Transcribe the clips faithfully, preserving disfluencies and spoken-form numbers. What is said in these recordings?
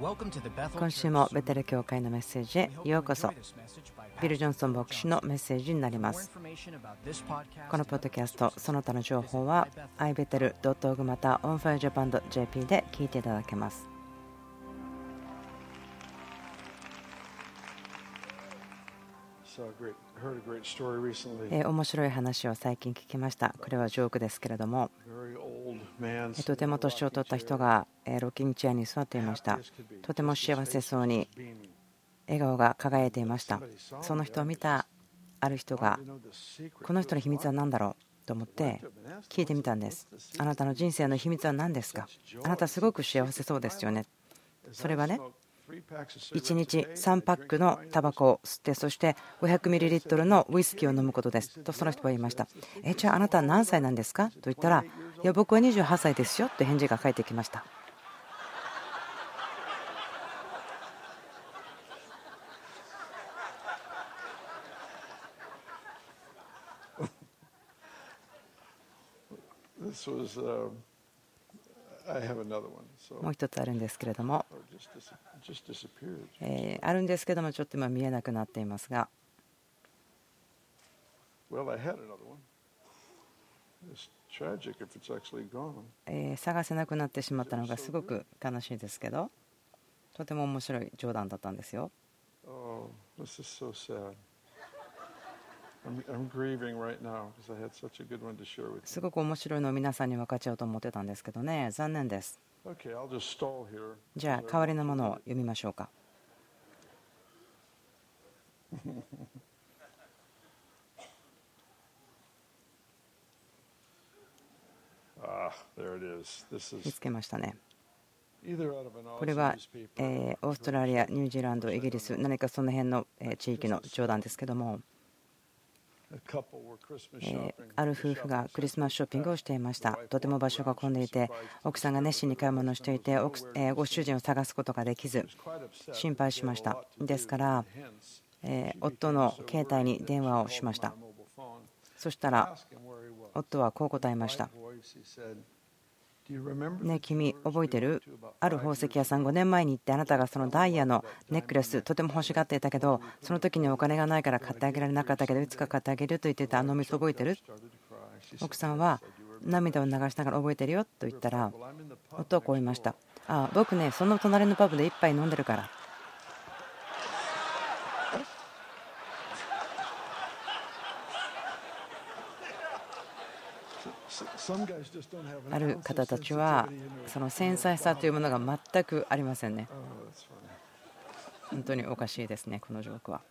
今週もベテル教会のメッセージへようこそ。ビル・ジョンソン牧師のメッセージになります。このポッドキャストその他の情報は アイベテルドットオーアールジー また オンファイアジャパンドットジェーピー で聞いていただけます。えー、面白い話を最近聞きました。これはジョークですけれども、とても年を取った人がロッキングチェアに座っていました。とても幸せそうに笑顔が輝いていました。その人を見たある人が、この人の秘密は何だろうと思って聞いてみたんです。あなたの人生の秘密は何ですか？あなたすごく幸せそうですよね。それはね、いちにちさんパックのタバコを吸って、そして ごひゃくミリリットル のウイスキーを飲むことですとその人は言いました。えじゃああなたは何歳なんですかと言ったら、いや僕はにじゅうはっさいですよと返事が返ってきました。もう一つあるんですけれども、えー、あるんですけどもちょっと今見えなくなっていますが、えー、探せなくなってしまったのがすごく悲しいですけど、とても面白い冗談だったんですよ。すごく面白いのを皆さんに分かち合おうと思ってたんですけどね、残念です。じゃあ代わりのものを読みましょうか。見つけましたね。これはえーオーストラリア、ニュージーランド、イギリス、何かその辺のえー地域の冗談ですけども、えーある夫婦がクリスマスショッピングをしていました。とても場所が混んでいて、奥さんが熱心に買い物をしていて、奥えーご主人を探すことができず心配しました。ですからえー夫の携帯に電話をしました。そしたら夫はこう答えました。ねえ君覚えてる？ある宝石屋さんごねんまえに行って、あなたがそのダイヤのネックレスとても欲しがっていたけど、その時にお金がないから買ってあげられなかったけど、いつか買ってあげると言ってたあの店覚えてる？奥さんは涙を流しながら覚えてるよと言ったら、夫はこう言いました。ああ僕ね、その隣のパブで一杯飲んでるから。ある方たちはその繊細さというものが全くありませんね。本当におかしいですね、このジョークは。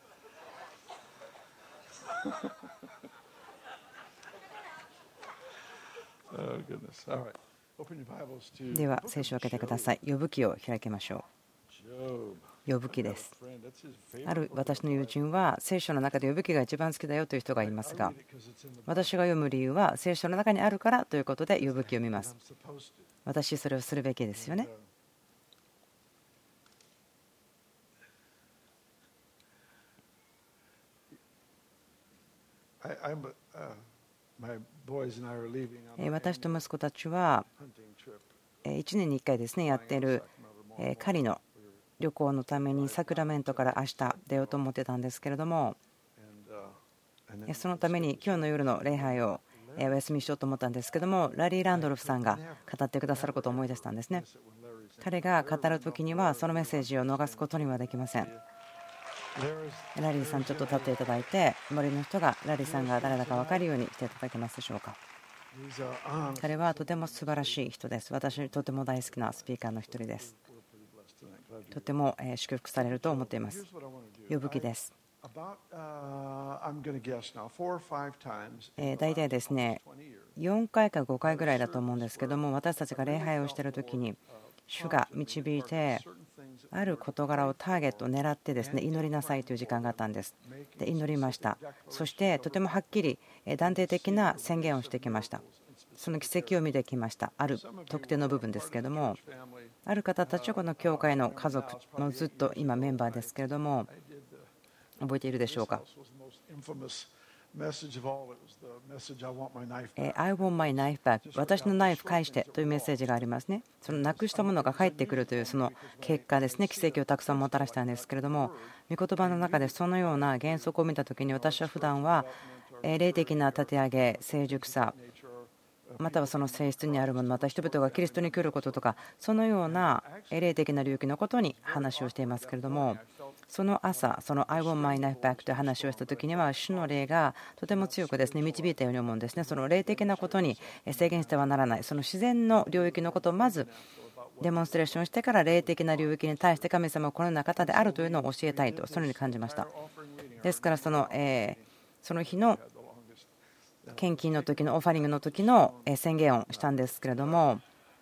では聖書を開けてください。ヨブ記を開きましょう。ヨブ記です。ある私の友人は聖書の中でヨブ記が一番好きだよという人がいますが、私が読む理由は聖書の中にあるからということでヨブ記を見ます。私それをするべきですよね。私と息子たちはいちねんにいっかいですねやっている狩りの旅行のためにサクラメントから明日出ようと思ってたんですけれども、そのために今日の夜の礼拝をお休みしようと思ったんですけども、ラリー・ランドルフさんが語ってくださることを思い出したんですね。彼が語る時にはそのメッセージを逃すことにはできません。ラリーさんちょっと立っていただいて、周りの人がラリーさんが誰だか分かるようにしていただけますでしょうか。彼はとても素晴らしい人です。私とても大好きなスピーカーの一人です。とても祝福されると思っています。ヨブ記です。大体ですねよんかいかごかいぐらいだと思うんですけども、私たちが礼拝をしている時に主が導いてある事柄をターゲットを狙ってですね祈りなさいという時間があったんです。で祈りました。そしてとてもはっきり断定的な宣言をしてきました。その奇跡を見てきました。ある特定の部分ですけれども、ある方たちはこの教会の家族のずっと今メンバーですけれども、覚えているでしょうか。 I want my knife back 私のナイフ返してというメッセージがありますね。そのなくしたものが返ってくるというその結果ですね、奇跡をたくさんもたらしたんですけれども、御言葉の中でそのような原則を見たときに、私は普段は霊的な立て上げ、成熟さ、またはその性質にあるもの、また人々がキリストに来ることとか、そのような霊的な領域のことに話をしていますけれども、その朝、その I want my knife back という話をしたときには、主の霊がとても強くですね導いたように思うんですね。その霊的なことに制限してはならない、その自然の領域のことをまずデモンストレーションしてから、霊的な領域に対して神様はこのような方であるというのを教えたいと、そのように感じました。ですからその、えー、その日の献金の時のオファリングの時の宣言をしたんですけれども、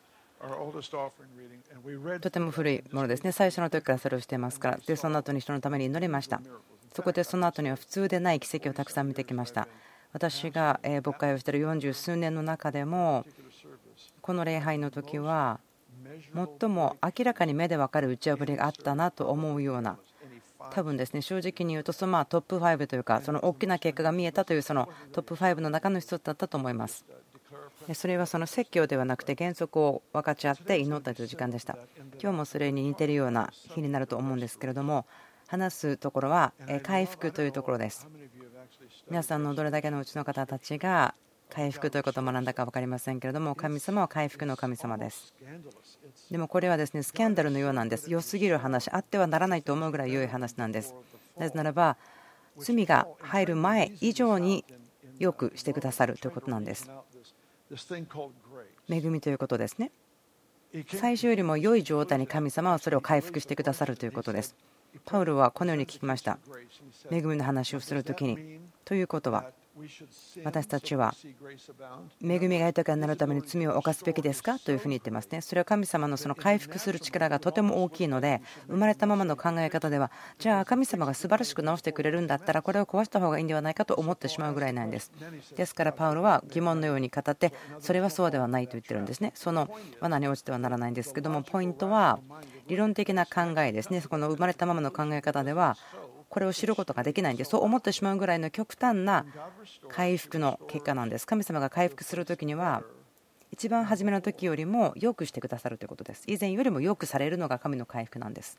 とても古いものですね。最初の時からそれをしていますから。でその後に人のために祈りました。そこでその後には普通でない奇跡をたくさん見てきました。私が牧会をしているよんじゅう数年の中でも、この礼拝の時は最も明らかに目で分かる打ち破りがあったなと思うような、多分ですね、正直に言うとそのまあトップごというか、その大きな結果が見えたというそのトップごの中の一つだったと思います。それはその説教ではなくて原則を分かち合って祈ったという時間でした。今日もそれに似ているような日になると思うんですけれども、話すところは回復というところです。皆さんのどれだけのうちの方たちが回復ということを学んだか分かりませんけれども、神様は回復の神様です。でもこれはですねスキャンダルのようなんです。良すぎる話、あってはならないと思うぐらい良い話なんです。なぜならば罪が入る前以上によくしてくださるということなんです。恵みということですね。最初よりも良い状態に神様はそれを回復してくださるということです。パウロはこのように聞きました。恵みの話をするときに、ということは私たちは恵みが豊かになるために罪を犯すべきですかというふうに言ってますね。それは神様のその回復する力がとても大きいので、生まれたままの考え方では、じゃあ神様が素晴らしく直してくれるんだったらこれを壊した方がいいんではないかと思ってしまうぐらいなんです。ですからパウロは疑問のように語って、それはそうではないと言ってるんですね。その罠に落ちてはならないんですけども、ポイントは理論的な考えですね。この生まれたままの考え方ではこれを知ることができないんで、そう思ってしまうぐらいの極端な回復の結果なんです。神様が回復するときには一番初めの時よりも良くしてくださるということです。以前よりも良くされるのが神の回復なんです。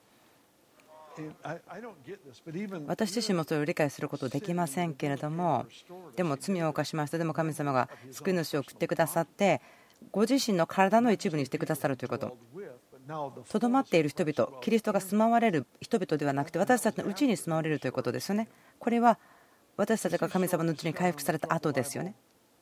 私自身もそれを理解することできませんけれども、でも罪を犯しました。でも神様が救い主を送ってくださって、ご自身の体の一部にしてくださるということ。とどまっている人々、キリストが住まわれる人々ではなくて、私たちのうちに住まわれるということですよね。これは私たちが神様のうちに回復された後ですよね。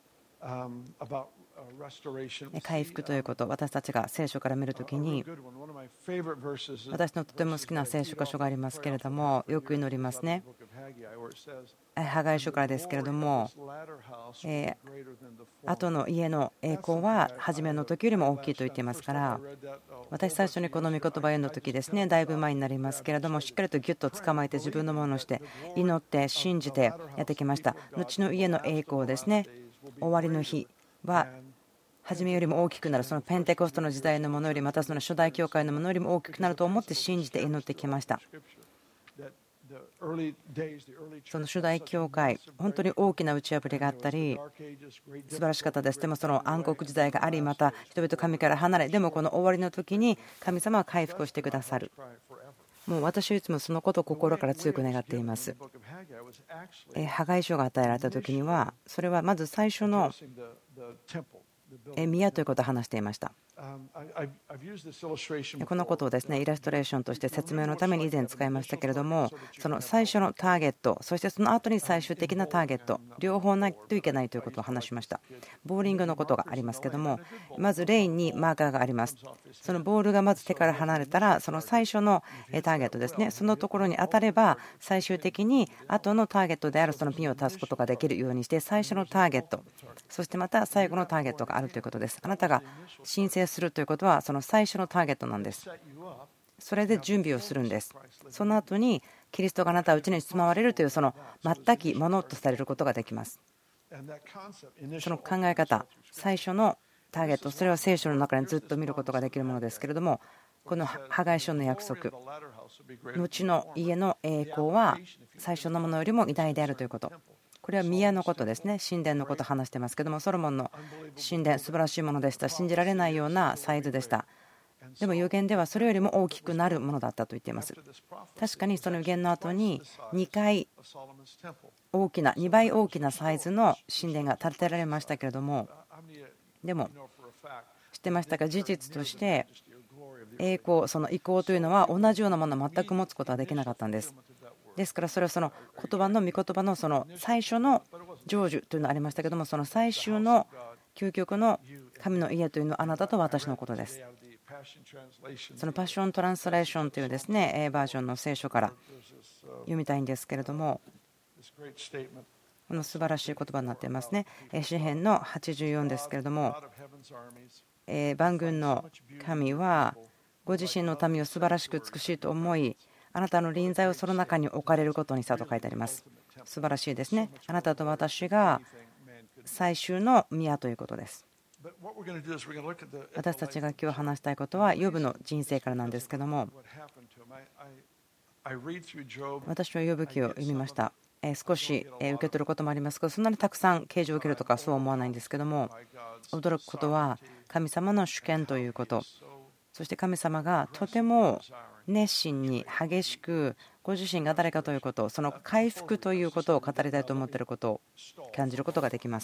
回復ということ、私たちが聖書から見るときに、私のとても好きな聖書箇所がありますけれども、よく祈りますね。ハガイ書からですけれども、え後の家の栄光は初めの時よりも大きいと言っていますから、私最初にこの御言葉を読んだ時ですね、だいぶ前になりますけれども、しっかりとギュッと捕まえて自分のものをして祈って信じてやってきました。後の家の栄光ですね、終わりの日は初めよりも大きくなる、そのペンテコストの時代のものより、またその初代教会のものよりも大きくなると思って信じて祈ってきました。その初代教会、本当に大きな打ち破りがあったり素晴らしかったです。でもその暗黒時代があり、また人々神から離れ、でもこの終わりの時に神様は回復をしてくださる。もう私はいつもそのことを心から強く願っています。ハガイ書が与えられた時には、それはまず最初の宮ということを話していました。このことをですねイラストレーションとして説明のために以前使いましたけれども、その最初のターゲット、そしてその後に最終的なターゲット、両方ないといけないということを話しました。ボーリングのことがありますけれども、まずレーンにマーカーがあります。そのボールがまず手から離れたら、その最初のターゲットですね、そのところに当たれば最終的に後のターゲットであるそのピンを足すことができるようにして、最初のターゲット、そしてまた最後のターゲットがあるということです。あなたが申請するということはその最初のターゲットなんです。それで準備をするんです。その後にキリストがあなたのうちに住まわれるというその全きものとされることができます。その考え方、最初のターゲット、それは聖書の中にずっと見ることができるものですけれども、このハガイ書の約束、後の家の栄光は最初のものよりも偉大であるということ、 これは宮のことですね。神殿のことを話してますけども、ソロモンの神殿素晴らしいものでした。信じられないようなサイズでした。でも預言ではそれよりも大きくなるものだったと言っています。確かにその預言の後ににかい大きなにばい大きなサイズの神殿が建てられましたけれども、でも知ってましたか、事実として栄光、その意向というのは同じようなものを全く持つことはできなかったんです。ですからそれはその言葉の御言葉のその最初の成就というのがありましたけども、その最終の究極の神の家というのはあなたと私のことです。そのパッショントランスレーションというですねバージョンの聖書から読みたいんですけれども、この素晴らしい言葉になっていますね。詩編のはちじゅうよんですけれども、万軍の神はご自身の民を素晴らしく美しいと思い、あなたの臨在をその中に置かれることにしたと書いてあります。素晴らしいですね。あなたと私が最終の宮ということです。私たちが今日話したいことはヨブの人生からなんですけども、私はヨブ記を読みました。少し受け取ることもありますが、そんなにたくさん啓示を受けるとかそう思わないんですけども、驚くことは神様の主権ということ、そして神様がとても熱心に激しくご自身が誰かということ、その回復ということを語りたいと思っていることを感じることができます。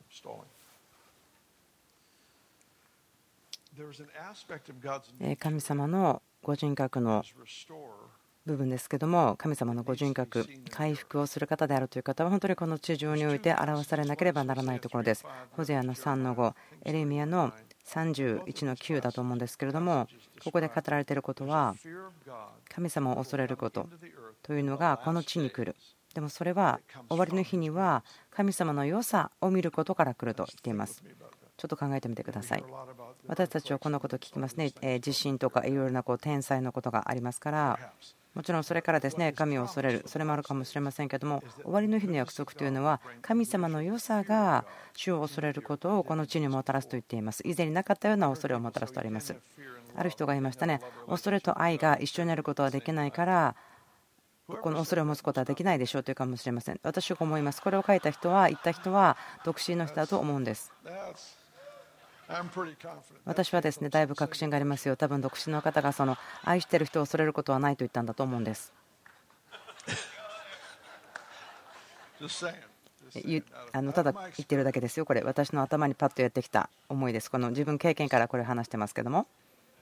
神様のご人格の部分ですけども、神様のご人格、回復をする方であるという方は本当にこの地上において表されなければならないところです。ホゼアのさんのご、エレミヤのさんじゅういちのきゅうだと思うんですけれども、ここで語られていることは神様を恐れることというのがこの地に来る。でもそれは終わりの日には神様の良さを見ることから来ると言っています。ちょっと考えてみてください。私たちはこのことを聞きますね。地震とかいろいろなこう天災のことがありますから、もちろんそれからですね神を恐れる、それもあるかもしれませんけども、終わりの日の約束というのは神様の良さが主を恐れることをこの地にもたらすと言っています。以前になかったような恐れをもたらすとあります。ある人が言いましたね。恐れと愛が一緒になることはできないからこの恐れを持つことはできないでしょうというかもしれません。私は思います。これを書いた人は言った人は独身の人だと思うんです。私はですねだいぶ確信がありますよ。多分独身の方がその愛している人を恐れることはないと言ったんだと思うんです。あのただ言ってるだけですよ。これ私の頭にパッとやってきた思いです。この自分経験からこれ話してますけども、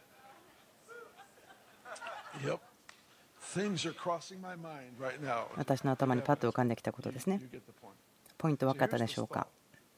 私の頭にパッと浮かんできたことですね。ポイント分かったでしょうか。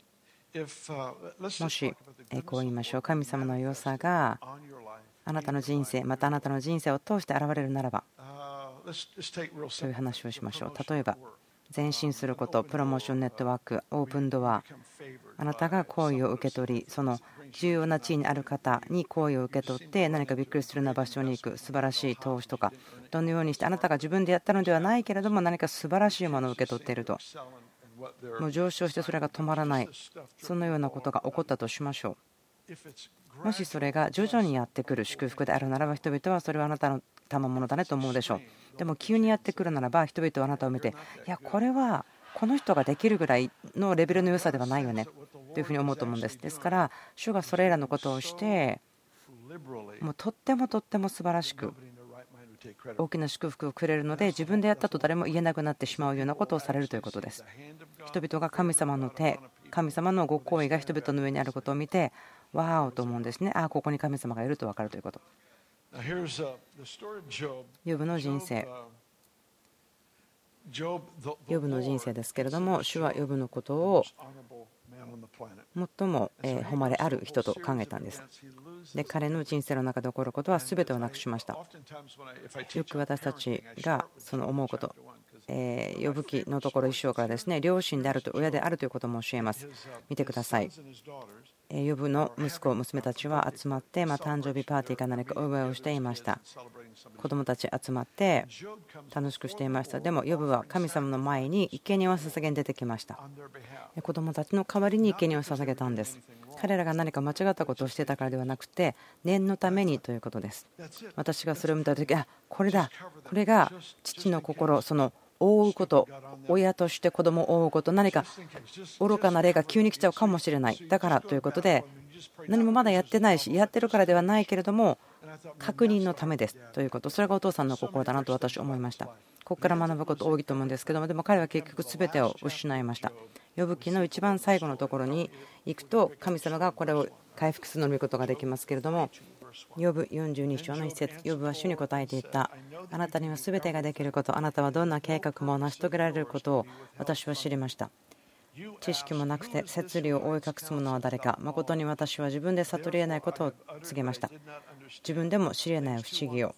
もしこう言いましょう。神様の良さがあなたの人生、またあなたの人生を通して現れるならばという話をしましょう。例えば前進すること、プロモーションネットワーク、オープンドア、あなたが好意を受け取り、その重要な地位にある方に好意を受け取って何かびっくりするような場所に行く素晴らしい投資とか、どのようにしてあなたが自分でやったのではないけれども何か素晴らしいものを受け取っていると、もう上昇してそれが止まらない、そのようなことが起こったとしましょう。もしそれが徐々にやってくる祝福であるならば、人々はそれはあなたの賜物だねと思うでしょう。でも急にやってくるならば人々はあなたを見て、いやこれはこの人ができるぐらいのレベルの良さではないよねというふうに思うと思うんです。ですから主がそれらのことをしてもうとってもとっても素晴らしく大きな祝福をくれるので、自分でやったと誰も言えなくなってしまうようなことをされるということです。人々が神様の手、神様のご厚意が人々の上にあることを見てわーおと思うんですね。ああここに神様がいると分かるということ。ヨブの人生、ヨブの人生ですけれども、主はヨブのことを最も誉れある人と考えたんです。で彼の人生の中で起こることは全てをなくしました。よく私たちがその思うこと、ヨブ記のところ一章からですね、両親であると親であるということも教えます。見てください。ヨブの息子娘たちは集まってまあ誕生日パーティーか何かお祝いをしていました。子供たち集まって楽しくしていました。でもヨブは神様の前に生贄を捧げに出てきました。子供たちの代わりに生贄を捧げたんです。彼らが何か間違ったことをしていたからではなくて、念のためにということです。私がそれを見たとき、あ、これだ、これが父の心、その覆うこと、親として子供を覆うこと、何か愚かな例が急に来ちゃうかもしれない、だからということで、何もまだやってないし、やってるからではないけれども、確認のためですということ、それがお父さんの心だなと私は思いました。ここから学ぶこと多いと思うんですけども、でも彼は結局全てを失いました。ヨブ記の一番最後のところに行くと、神様がこれを回復するのを見ることができますけれども、ヨブよんじゅうに章の一節、ヨブは主に答えていった。あなたには全てができること、あなたはどんな計画も成し遂げられることを私は知りました。知識もなくて摂理を覆い隠す者は誰か。誠に私は自分で悟り得ないことを告げました。自分でも知り得ない不思議を。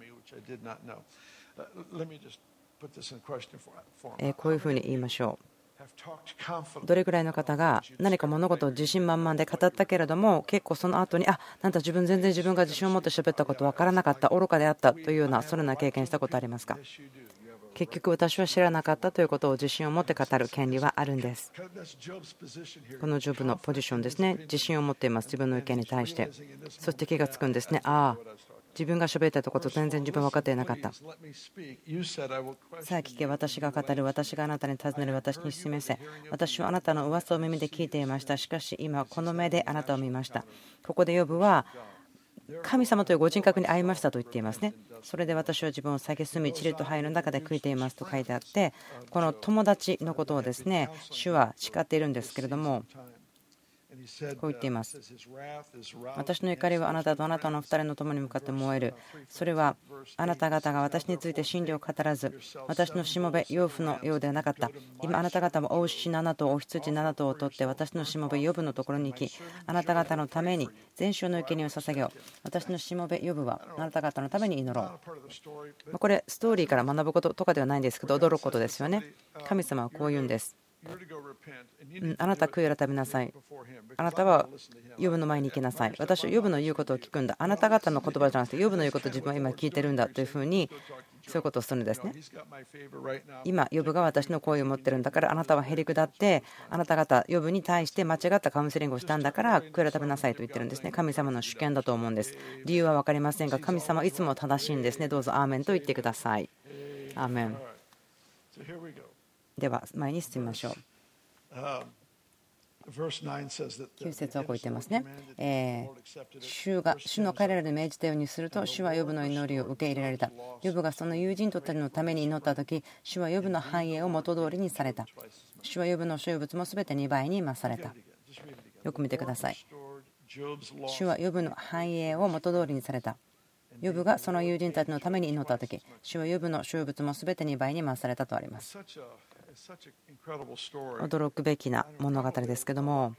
こういうふうに言いましょう。どれぐらいの方が何か物事を自信満々で語ったけれども、結構その後に、あ、なんだ自分全然自分が自信を持って喋ったこと分からなかった、愚かであったというような、それな経験したことありますか？結局私は知らなかったということを自信を持って語る権利はあるんです。このジョブのポジションですね。自信を持っています、自分の意見に対して。そして気がつくんですね。ああ、自分が喋ってたこと全然自分分かっていなかった。さあ聞け、私が語る、私があなたに尋ねる、私に示せ。私はあなたの噂を耳で聞いていました。しかし今この目であなたを見ました。ここでヨブは神様というご人格に会いましたと言っていますね。それで私は自分を蔑み、塵と灰の中で悔いていますと書いてあって、この友達のことをですね、主は誓っているんですけれども、こう言っています。私の怒りはあなたとあなたの二人の友に向かって燃える。それはあなた方が私について真理を語らず、私のしもべヨブのようではなかった。今あなた方もお牛なな頭、お羊なな頭を取って私のしもべヨブのところに行き、あなた方のために全焼の生贄を捧げよう。私のしもべヨブはあなた方のために祈ろう。これストーリーから学ぶこととかではないんですけど、驚くことですよね。神様はこう言うんです。あなた悔い改めなさい。あなたはヨブの前に行きなさい。私はヨブの言うことを聞くんだ。あなた方の言葉じゃなくてヨブの言うことを自分は今聞いてるんだというふうに、そういうことをするんですね。今ヨブが私の好意を持ってるんだから、あなたはへりくだってあなた方ヨブに対して間違ったカウンセリングをしたんだから悔い改めなさいと言ってるんですね。神様の主権だと思うんです。理由は分かりませんが、神様はいつも正しいんですね。どうぞアーメンと言ってください。アーメン。では前に進みましょう。きゅう節はこう言ってますね。えー、主が主の彼らに命じたようにすると、主はヨブの祈りを受け入れられた。ヨブがその友人たちのために祈ったとき、主はヨブの繁栄を元通りにされた。主はヨブの所有物もすべてにばいに増された。よく見てください。主はヨブの繁栄を元通りにされた。ヨブがその友人たちのために祈ったとき、主はヨブの所有物もすべてにばいに増されたとあります。驚くべきな物語ですけども、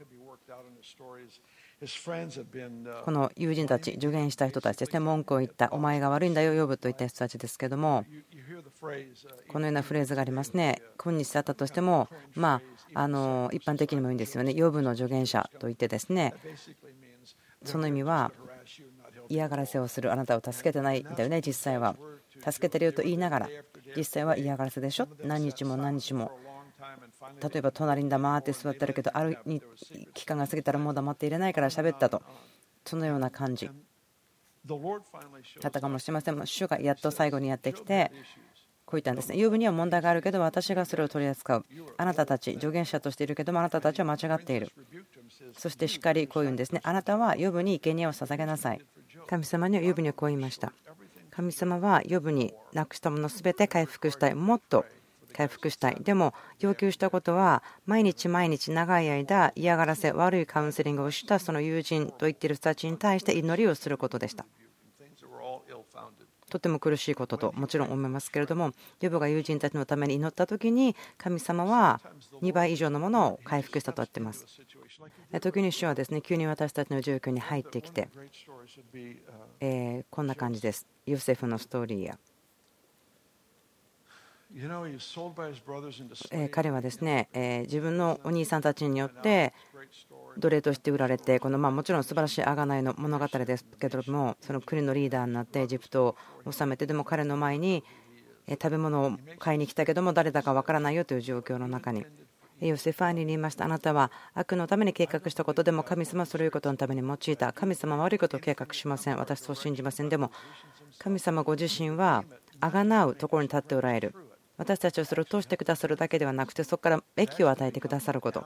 この友人たち、助言した人たちですね、文句を言った、お前が悪いんだよヨブといった人たちですけども、このようなフレーズがありますね。今日だったとしても、まあ、あの一般的にもいいんですよね。ヨブの助言者といってですね、その意味は嫌がらせをする、あなたを助けてないんだよね、実際は助けてるよと言いながら、実際は嫌がらせでしょ。何日も何日も、例えば隣に黙って座ってるけど、ある期間が過ぎたらもう黙っていれないから喋ったと、そのような感じだったかもしれません。主がやっと最後にやってきてこう言ったんですね。ヨブには問題があるけど私がそれを取り扱う。あなたたち助言者としているけども、あなたたちは間違っている。そしてしっかりこう言うんですね。あなたはヨブに生贄を捧げなさい。神様にはヨブにはこう言いました。神様はヨブになくしたものすべて回復したい。もっと回復したい。でも要求したことは、毎日毎日長い間嫌がらせ、悪いカウンセリングをしたその友人と言っている人たちに対して祈りをすることでした。とても苦しいことともちろん思いますけれども、ヨブが友人たちのために祈った時に神様はにばい以上のものを回復したと言っています。時に主はですね、急に私たちの状況に入ってきて、えー、こんな感じです。ヨセフのストーリーや彼はですね、自分のお兄さんたちによって奴隷として売られて、このまあもちろん素晴らしい贖いの物語ですけれども、その国のリーダーになってエジプトを治めて、でも彼の前に食べ物を買いに来たけども誰だかわからないよという状況の中にヨセフは兄に言いました。あなたは悪のために計画したことでも神様はそういうことのために用いた。神様は悪いことを計画しません。私そう信じません。でも神様ご自身は贖うところに立っておられる。 私たちをそれを通してくださるだけではなくて、そこから益を与えてくださること、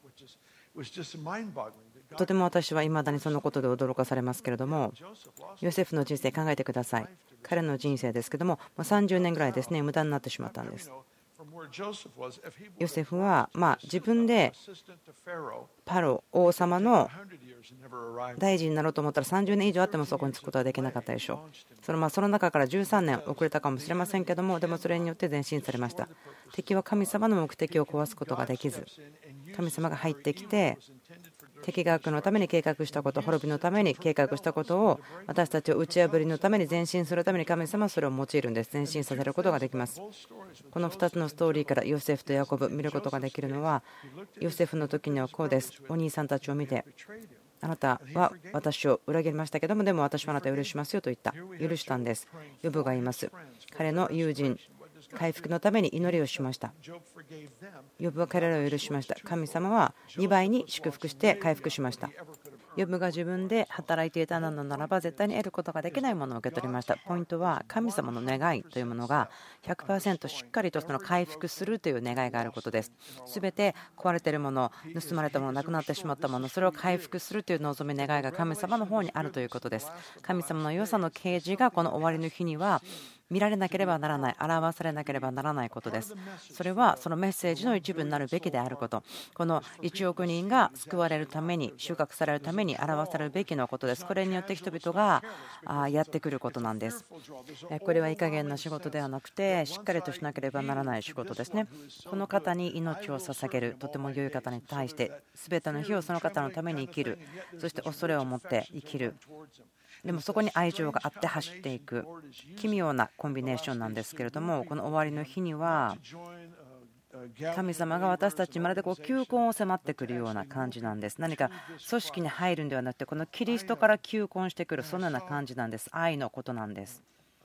とても私は未だにそのことで驚かされますけれども、ヨセフの人生考えてください。彼の人生ですけども、さんじゅうねんぐらいですね、無駄になってしまったんです。ヨセフはまあ自分でパロ王様の大臣になろうと思ったらさんじゅうねん以上あってもそこに着くことはできなかったでしょう。そのまあその中からじゅうさんねん遅れたかもしれませんけども、でもそれによって前進されました。敵は神様の目的を壊すことができず、神様が入ってきて敵が悪のために計画したこと、滅びのために計画したことを私たちを打ち破りのために前進するために神様はそれを用いるんです。前進させることができます。このふたつのストーリーからヨセフとヤコブ見ることができるのは、ヨセフの時にはこうです。お兄さんたちを見て、あなたは私を裏切りましたけども、でも私はあなたを許しますよと言った。許したんです。ヨブが言います。彼の友人回復のために祈りをしました。ヨブは彼らを許しました。神様はにばいに祝福して回復しました。ヨブが自分で働いていたのならば絶対に得ることができないものを受け取りました。ポイントは神様の願いというものが ひゃくパーセント しっかりとその回復するという願いがあることです。すべて壊れているもの、盗まれたもの、なくなってしまったもの、それを回復するという望み願いが神様の方にあるということです。神様の良さの啓示がこの終わりの日には見られなければならない、表されなければならないことです。それはそのメッセージの一部になるべきであること、このいちおく人が救われるために、収穫されるために表されるべきのことです。これによって人々がやってくることなんです。これはいい加減な仕事ではなくて、しっかりとしなければならない仕事ですね。この方に命を捧げる、とても良い方に対して、すべての日をその方のために生きる、そして恐れを持って生きる。でもそこに愛情があって走っていく奇妙なコンビネーションなんですけれども、この終わりの日には神様が私たちにまるでこう求婚を迫ってくるような感じなんです。何か組織に入るんではなくて、このキリストから求婚してくる、そのような感じなんです。愛のことなんです。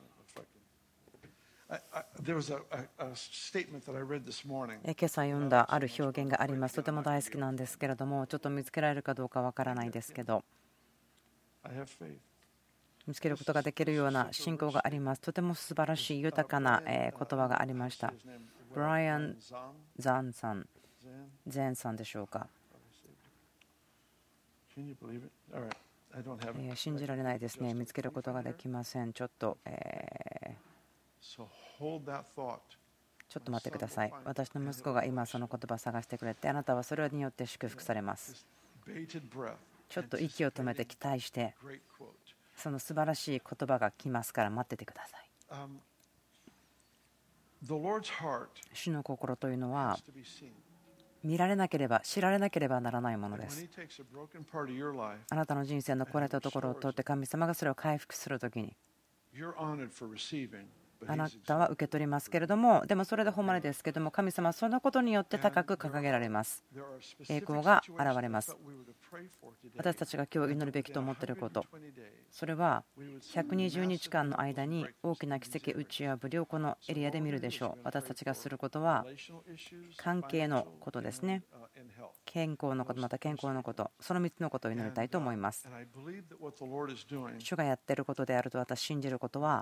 今朝読んだある表現があります。とても大好きなんですけれども、ちょっと見つけられるかどうかわからないですけど、見つけることができるような信仰があります。とても素晴らしい豊かな言葉がありました。ブライアン・ザンさん、ゼンさんでしょうか。信じられないですね。見つけることができません。ちょっと、えー、ちょっと待ってください。私の息子が今その言葉を探してくれて、あなたはそれによって祝福されます。ちょっと息を止めて期待して、その素晴らしい言葉が来ますから待っててください。主の心というのは見られなければ知られなければならないものです。あなたの人生の壊れたところを通って神様がそれを回復するときに、あなたは受け取りますけれども、でもそれで誉れですけども、神様はそのことによって高く掲げられます。栄光が現れます。私たちが今日祈るべきと思っていること、それはひゃくにじゅうにちかんの間に大きな奇跡打ち破りをこのエリアで見るでしょう。私たちがすることは関係のことですね。健康のこと、また健康のこと、そのみっつのことを祈りたいと思います。主がやっていることであると私信じることは、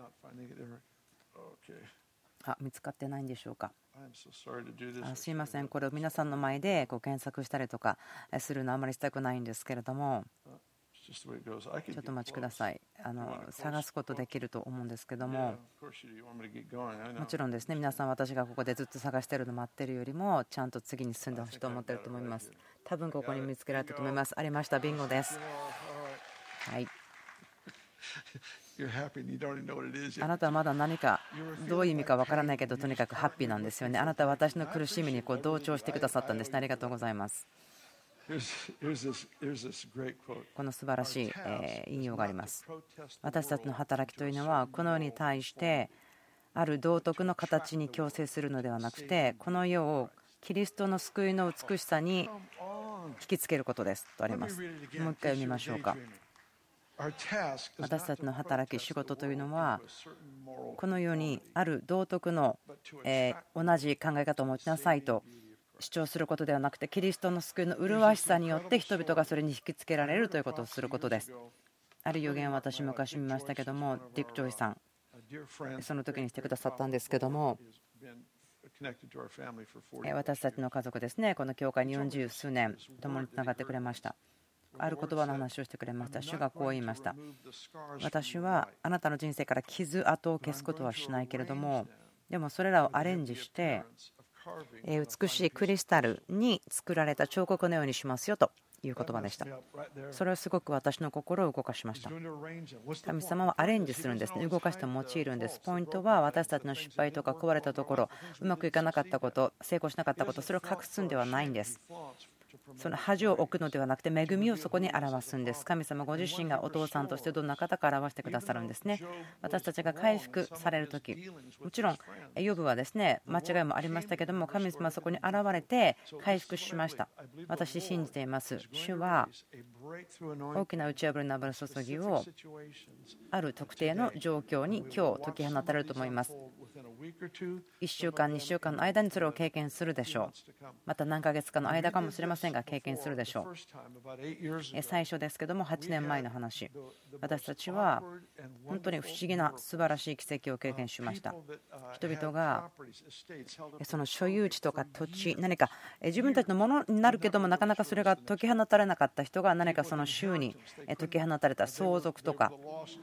あ、見つかってないんでしょうか。あ、すいません、これを皆さんの前でこう検索したりとかするのはあまりしたくないんですけれども、ちょっとお待ちください。あの探すことできると思うんですけども、もちろんですね、皆さん私がここでずっと探しているの待っているよりもちゃんと次に進んでほしいと思っていると思います。多分ここに見つけられたと思います。ありました、ビンゴです。はい、あなたはまだ何かどういう意味かわからないけど、とにかくハッピーなんですよね。あなたは私の苦しみにこう同調してくださったんですね。ありがとうございます。この素晴らしい引用があります。私たちの働きというのはこの世に対してある道徳の形に強制するのではなくて、この世をキリストの救いの美しさに引きつけることですとあります。もう一回読みましょうか。私たちの働き、仕事というのはこの世にある道徳の同じ考え方を持ちなさいと主張することではなくて、キリストの救いの麗しさによって人々がそれに引きつけられるということをすることです。ある予言を私昔見ましたけども、ディック・ジョイさんその時にしてくださったんですけども、 私たちの家族ですね、この教会によんじゅうすうねん共につながってくれました。ある言葉の話をしてくれました。主がこう言いました。私はあなたの人生から傷跡を消すことはしないけれども、でもそれらをアレンジして美しいクリスタルに作られた彫刻のようにしますよという言葉でした。それはすごく私の心を動かしました。神様はアレンジするんですね。動かして用いるんです。ポイントは私たちの失敗とか壊れたところ、うまくいかなかったこと、成功しなかったこと、それを隠すんではないんです。その恥を置くのではなくて恵みをそこに表すんです。神様ご自身がお父さんとしてどんな方か表してくださるんですね。私たちが回復されるとき、もちろんヨブはですね間違いもありましたけども、神様はそこに現れて回復しました。私信じています。主は大きな打ち破りの油注ぎをある特定の状況に今日解き放たれると思います。いっしゅうかんにしゅうかんの間にそれを経験するでしょう。また何ヶ月かの間かもしれませんが経験するでしょう。最初ですけどもはちねんまえの話、私たちは本当に不思議な素晴らしい奇跡を経験しました。人々がその所有地とか土地、何か自分たちのものになるけどもなかなかそれが解き放たれなかった人が何かその州に解き放たれた相続とか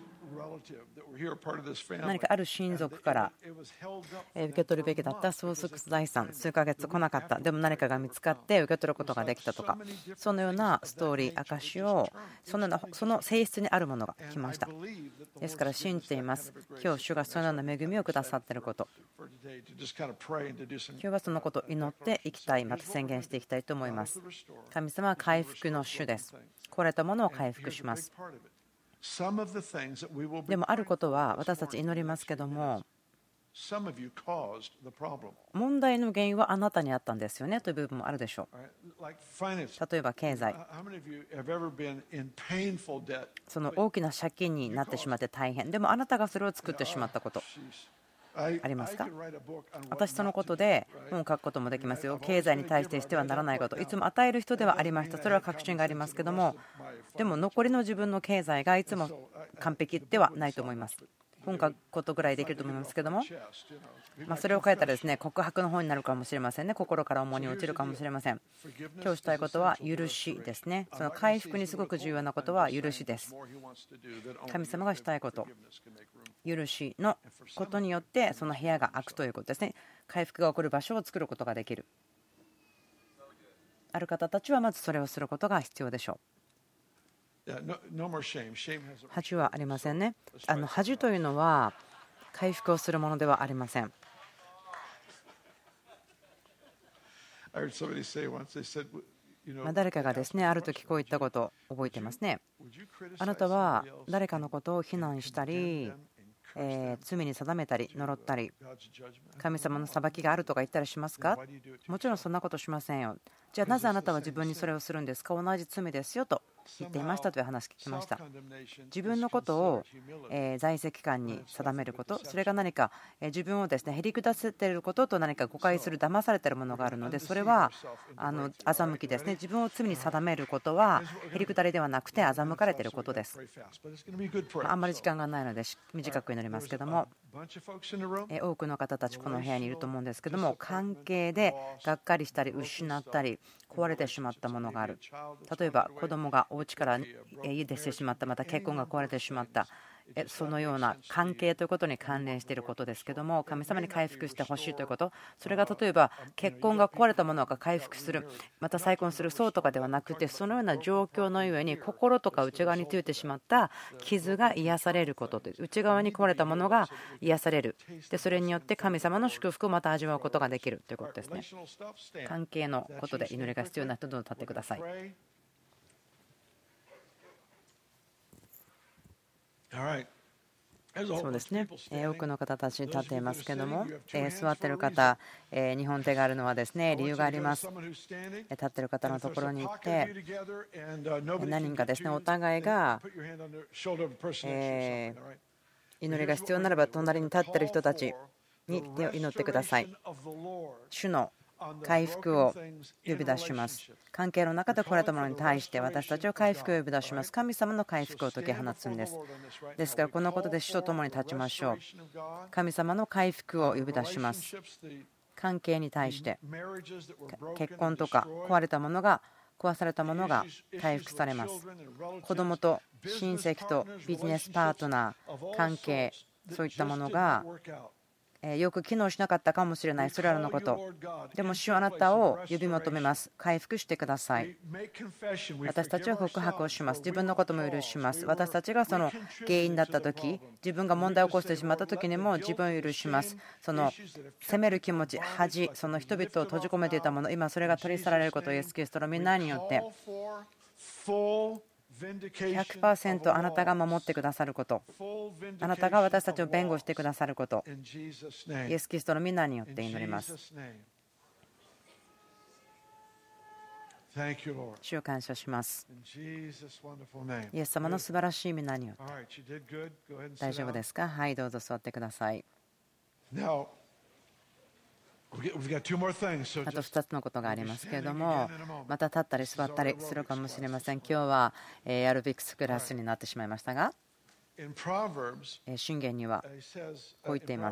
何かある親族から受け取るべきだった相続財産、数ヶ月来なかった、でも何かが見つかって受け取ることができたとか、そのようなストーリー、証をそのその性質にあるものが来ました。ですから信じています。今日主がそのような恵みをくださっていること、今日はそのことを祈っていきたい、また宣言していきたいと思います。神様は回復の主です。壊れたものを回復します。でもあることは私たち祈りますけども、問題の原因はあなたにあったんですよねという部分もあるでしょう。例えば経済、その大きな借金になってしまって大変、でもあなたがそれを作ってしまったことありますか？私そのことで本を書くこともできますよ。経済に対してしてはならないこと、いつも与える人ではありました。それは確信がありますけども、でも残りの自分の経済がいつも完璧ではないと思います。本書くことぐらいできると思いますけども、まあそれを書いたらですね告白の本になるかもしれませんね。心から重荷落ちるかもしれません。今日したいことは許しですね。その回復にすごく重要なことは許しです。神様がしたいこと、許しのことによってその部屋が開くということですね。回復が起こる場所を作ることができる。ある方たちはまずそれをすることが必要でしょう。恥はありませんね。あの恥というのは回復をするものではありません。まあ誰かがですねある時こういったことを覚えてますね。あなたは誰かのことを非難したり、えー、罪に定めたり呪ったり神様の裁きがあるとか言ったりしますか？もちろんそんなことしませんよ。じゃあなぜあなたは自分にそれをするんですか？同じ罪ですよと言っていましたという話聞きました。自分のことを在籍感に定めること、それが何か自分をですねへりくだせていることと何か誤解する、騙されているものがあるので、それはあの欺きですね。自分を罪に定めることはへりくだりではなくて欺かれていることです。あんまり時間がないので短く祈りますけども、多くの方たちこの部屋にいると思うんですけども、関係でがっかりしたり失ったり壊れてしまったものがある。例えば子供がお家から家出してしまった、また結婚が壊れてしまった、そのような関係ということに関連していることですけども、神様に回復してほしいということ、それが例えば結婚が壊れたものが回復する、また再婚する、そうとかではなくて、そのような状況のゆえに心とか内側についてしまった傷が癒されることという、内側に壊れたものが癒される、でそれによって神様の祝福をまた味わうことができるということですね。関係のことで祈りが必要な人どうぞ立ってください。そうですね、多くの方たち立っていますけども、座っている方、日本手があるのはですね理由があります。立っている方のところに行って何人かですねお互いが祈りが必要ならば隣に立っている人たちに手を祈ってください。主の回復を呼び出します。関係の中で来られたものに対して私たちは回復を呼び出します。神様の回復を解き放つんです。ですからこのことで主と共に立ちましょう。神様の回復を呼び出します。関係に対して結婚とか壊れたものが壊されたものが回復されます。子どもと親戚とビジネスパートナー関係、そういったものがよく機能しなかったかもしれない、それらのこと。でも主はあなたを呼び求めます。回復してください。私たちは告白をします。自分のことも許します。私たちがその原因だった時、自分が問題を起こしてしまった時にも自分を許します。その責める気持ち、恥、その人々を閉じ込めていたもの、今それが取り去られることをイエス・キリストの皆によってひゃくパーセント あなたが守ってくださること、あなたが私たちを弁護してくださること、イエス・キリストの皆によって祈ります。主を感謝します。イエス様の素晴らしい皆によって。大丈夫ですか？はい、どうぞ座ってください。あとふたつのことがありますけれども、また立ったり座ったりするかもしれません。今日はエアロビクスクラスになってしまいましたが、箴言にはこう言っています。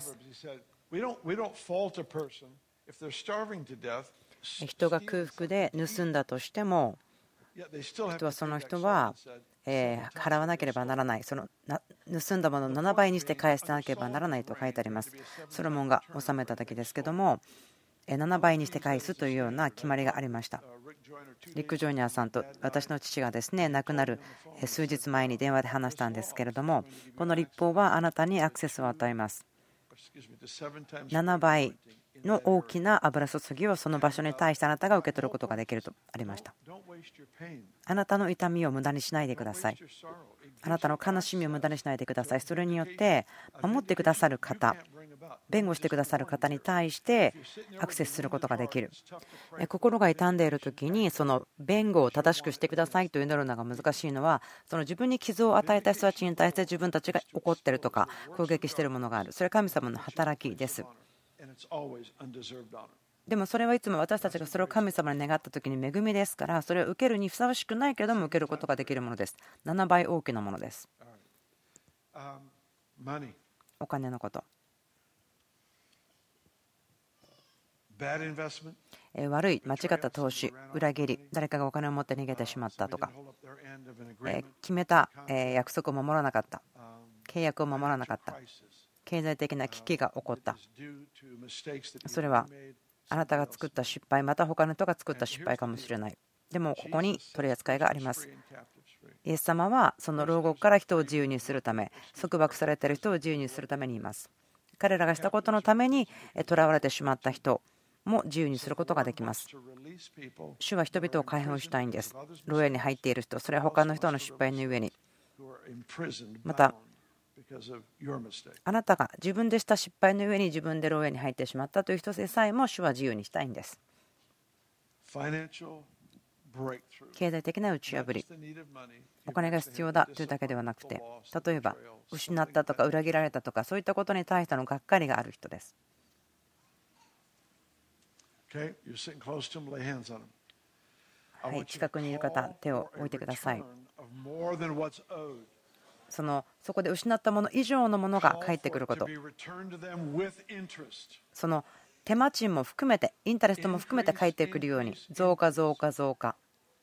人が空腹で盗んだとしても、人はその人は払わなければならない、その盗んだものをななばいにして返さなければならないと書いてあります。ソロモンが治めた時ですけども、ななばいにして返すというような決まりがありました。リック・ジョイナーさんと私の父がですね、亡くなる数日前に電話で話したんですけれども、この立法はあなたにアクセスを与えます。ななばいの大きな油注ぎをその場所に対してあなたが受け取ることができるとありました。あなたの痛みを無駄にしないでください。あなたの悲しみを無駄にしないでください。それによって守ってくださる方、弁護してくださる方に対してアクセスすることができる。心が痛んでいる時にその弁護を正しくしてくださいと祈るのが難しいのは、その自分に傷を与えた人たちに対して自分たちが怒っているとか攻撃しているものがある。それは神様の働きです。でもそれはいつも私たちがそれを神様に願った時に恵みですから、それを受けるにふさわしくないけれども受けることができるものです。ななばい大きなものです。お金のこと、悪い間違った投資、裏切り、誰かがお金を持って逃げてしまったとか、決めた約束を守らなかった、契約を守らなかった、経済的な危機が起こった。それはあなたが作った失敗、また他の人が作った失敗かもしれない。でもここに取り扱いがあります。イエス様はその牢獄から人を自由にするため、束縛されている人を自由にするためにいます。彼らがしたことのために囚われてしまった人も自由にすることができます。主は人々を解放したいんです。牢屋に入っている人、それは他の人の失敗の上に、またあなたが自分でした失敗の上に自分で牢屋に入ってしまったという人でさえも主は自由にしたいんです。経済的な打ち破り、お金が必要だというだけではなくて、例えば失ったとか裏切られたとか、そういったことに対してのがっかりがある人です。はい、近くにいる方、手を置いてください。そのそこで失ったもの以上のものが返ってくること、その手間賃も含めて、インタレストも含めて返ってくるように、増加増加増加。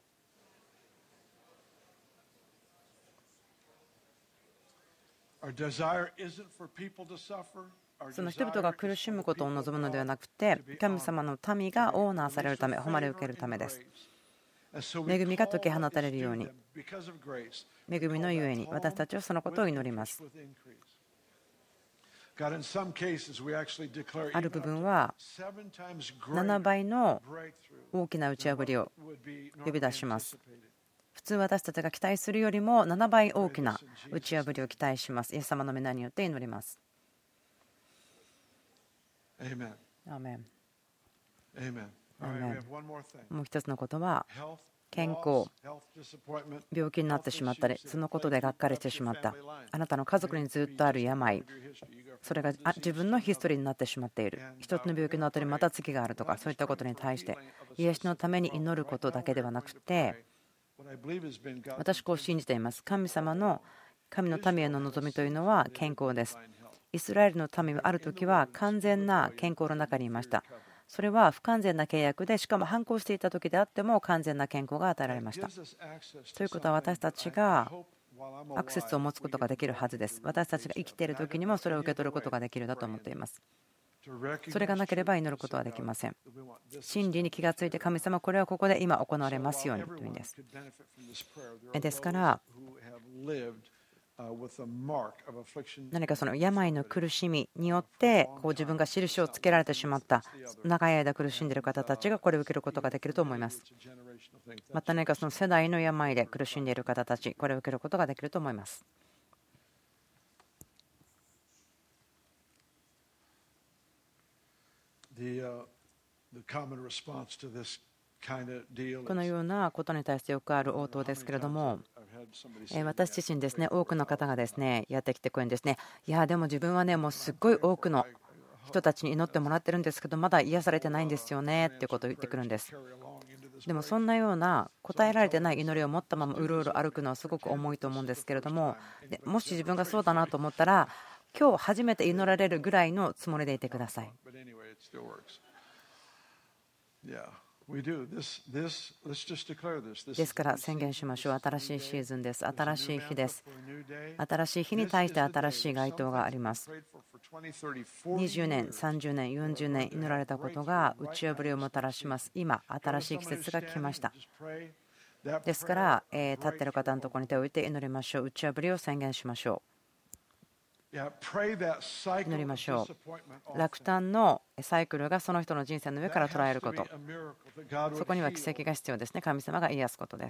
その人々が苦しむことを望むのではなくて、神様の民がオーナーされるため、誉れを受けるためです。恵みが解き放たれるように、恵みのゆえに私たちはそのことを祈ります。ある部分はななばいの大きな打ち破りを呼び出します。普通私たちが期待するよりもななばい大きな打ち破りを期待します。イエス様の皆によって祈ります。アーメン。アーメン。もう一つのことは、健康、病気になってしまったり、そのことでがっかりしてしまった、あなたの家族にずっとある病、 それが自分のヒストリーになってしまっている。一つの病気の後にまた次があるとか、そういったことに対して癒しのために祈ることだけではなくて、私こう信じています。神様の神の民への望みというのは健康です。イスラエルの民はある時は完全な健康の中にいました。それは不完全な契約で、しかも反抗していた時であっても完全な健康が与えられました。ということは、私たちがアクセスを持つことができるはずです。私たちが生きている時にもそれを受け取ることができるだと思っています。それがなければ祈ることはできません。真理に気がついて、神様、これはここで今行われますようにという意味です。ですから何かその病の苦しみによってこう自分が印をつけられてしまった長い間苦しんでいる方たちがこれを受けることができると思います。また何かその世代の病で苦しんでいる方たち、これを受けることができると思います。このようなことに対してよくある応答ですけれども、私自身ですね、多くの方がですねやってきてくるんですね。いやでも自分はねもうすっごい多くの人たちに祈ってもらってるんですけど、まだ癒されてないんですよねっていうことを言ってくるんです。でもそんなような答えられてない祈りを持ったままうろうろ歩くのはすごく重いと思うんですけれども、でもし自分がそうだなと思ったら、今日初めて祈られるぐらいのつもりでいてください。ですから宣言しましょう。新しいシーズンです。新しい日です。新しい日に対して新しい該当があります。にじゅうねん、さんじゅうねん、よんじゅうねん祈られたことが打ち破りをもたらします。今、新しい季節が来ました。ですから、え立っている方のところに手を置いて祈りましょう。打ち破りを宣言しましょう。祈りましょう。落胆のサイクルがその人の人生の上から捉えること、そこには奇跡が必要ですね。神様が癒すことです。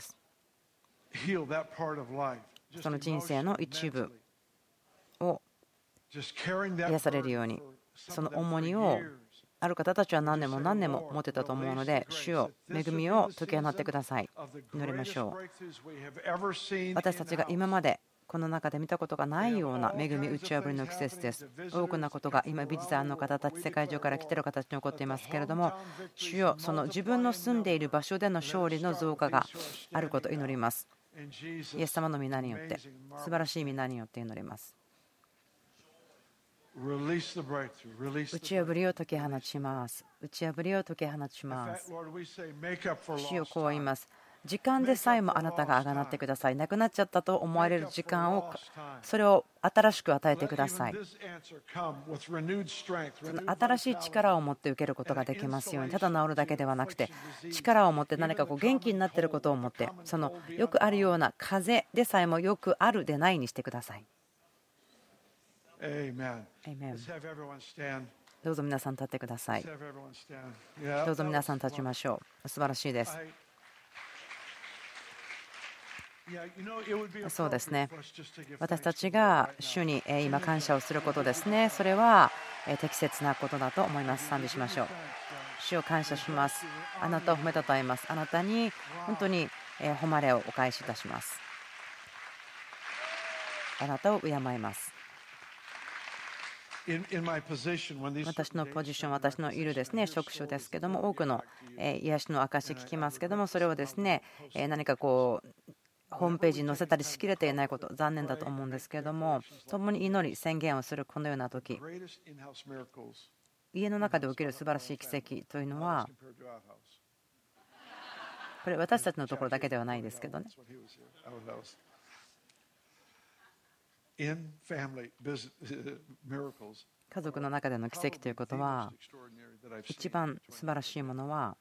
その人生の一部を癒されるように、その重荷をある方たちは何年も何年も持ってたと思うので、主よ恵みを解き放ってください。祈りましょう。私たちが今までこの中で見たことがないような恵み打ち破りの季節です。多くのことが今ビジターの方たち、世界中から来ている方たちに起こっていますけれども、主よその自分の住んでいる場所での勝利の増加があることを祈ります。イエス様の皆によって、素晴らしい皆によって祈ります。打ち破りを解き放ちます。打ち破りを解き放ちます。主よこう言います。時間でさえもあなたがあがなってください。なくなっちゃったと思われる時間を、それを新しく与えてください。その新しい力を持って受けることができますように、ただ治るだけではなくて、力を持って何かこう元気になっていることを持って、そのよくあるような風でさえもよくあるでないにしてください。アーメン。どうぞ皆さん立ってください。どうぞ皆さん立ちましょう。素晴らしいです。そうですね。私たちが主に今感謝をすることですね。それは適切なことだと思います。賛美しましょう。主を感謝します。あなたを褒めたたえます。あなたに本当に誉れをお返しいたします。あなたを敬います。私のポジション、私のいるですね職種ですけども、多くの癒しの証聞きますけども、それをですね何かこうホームページに載せたりしきれていないこと、残念だと思うんですけれども、共に祈り宣言をするこのような時、家の中で起きる素晴らしい奇跡というのは、これ私たちのところだけではないですけどね、家族の中での奇跡ということは、一番素晴らしいものは、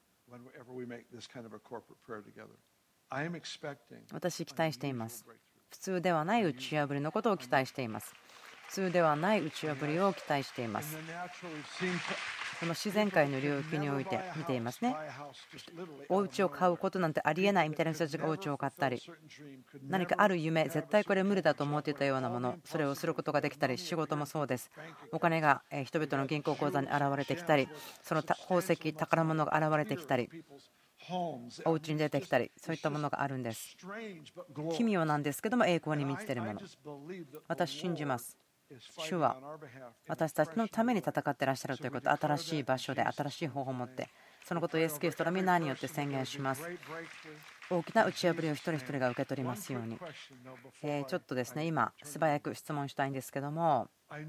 私期待しています。普通ではない打ち破りのことを期待しています。普通ではない打ち破りを期待しています。この自然界の領域において見ていますね。お家を買うことなんてありえないみたいな人たちがお家を買ったり、何かある夢、絶対これ無理だと思っていたようなもの、それをすることができたり、仕事もそうです。お金が人々の銀行口座に現れてきたり、その宝石、宝物が現れてきたり、お家に出てきたり、そういったものがあるんです。奇妙なんですけども栄光に満ちているもの、私信じます。 主は私たちのために戦っていらっしゃるということ、新しい場所で新しい方法を持って、そのことをイエス・キリストの皆によって宣言します。大きな打ち破りを一人一人が受け取りますように。えーちょっとですね、今、素早く質問したいんですけども、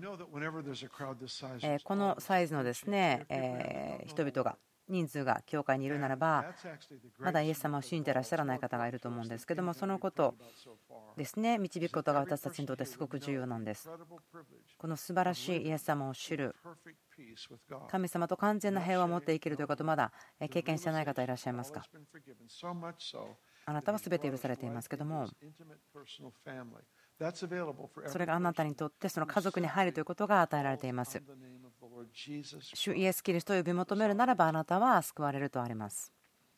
えーこのサイズのですね、えー人々が、人数が教会にいるならば、まだイエス様を信じていらっしゃらない方がいると思うんですけども、そのことですね、導くことが私たちにとってすごく重要なんです。この素晴らしいイエス様を知る、神様と完全な平和を持って生きるということ、まだ経験してない方いらっしゃいますか。あなたは全て許されていますけども、それがあなたにとってその家族に入るということが与えられています。主イエス・キリストを呼び求めるならば、あなたは救われるとあります。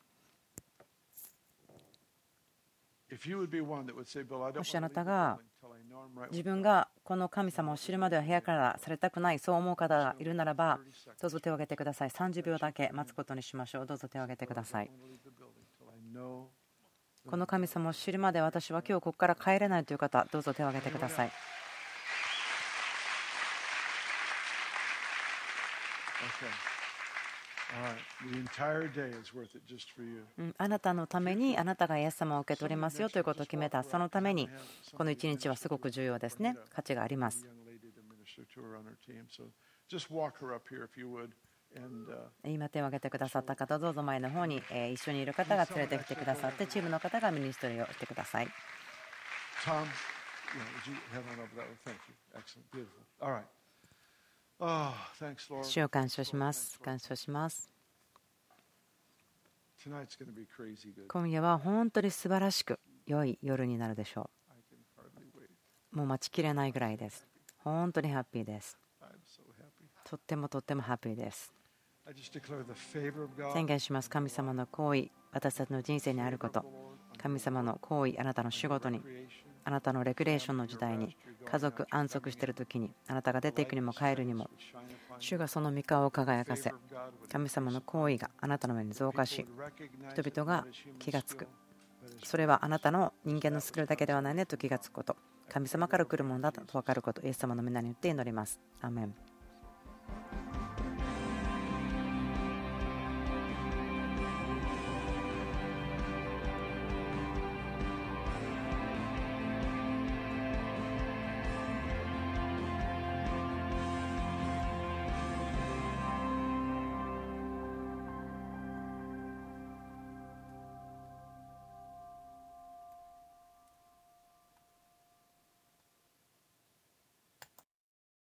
もしあなたが自分がこの神様を知るまでは部屋からされたくない、そう思う方がいるならば、どうぞ手を挙げてください。さんじゅうびょうだけ待つことにしましょう。どうぞ手を挙げてください。この神様を知るまで私は今日ここから帰れないという方、どうぞ手を挙げてください。あなたのために、あなたがイエス様を受け取りますよということを決めた、そのためにこの一日はすごく重要ですね。価値があります。今手を挙げてくださった方、どうぞ前の方に一緒にいる方が連れてきてくださって、チームの方がミニストリーをしてください。主を感謝します。感謝します。今夜は本当に素晴らしく良い夜になるでしょう。もう待ちきれないぐらいです。本当にハッピーです。とってもとってもハッピーです。宣言します。神様の行為、私たちの人生にあること、神様の行為、あなたの仕事に、あなたのレクレーションの時代に、家族安息している時に、あなたが出ていくにも帰るにも、主がその御顔を輝かせ、神様の行為があなたの上に増加し、人々が気がつく。それはあなたの人間のスキルだけではないねと気がつくこと、神様から来るものだと分かること、イエス様の皆によって祈ります。アーメン。